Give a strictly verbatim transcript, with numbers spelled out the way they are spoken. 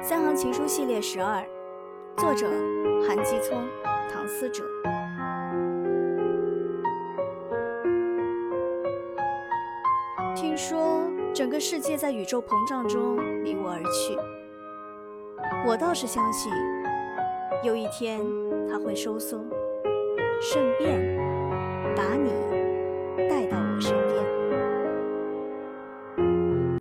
三行情书系列十二，作者韩基聪、唐思哲。听说整个世界在宇宙膨胀中离我而去，我倒是相信有一天它会收缩，顺便把你带到我身边。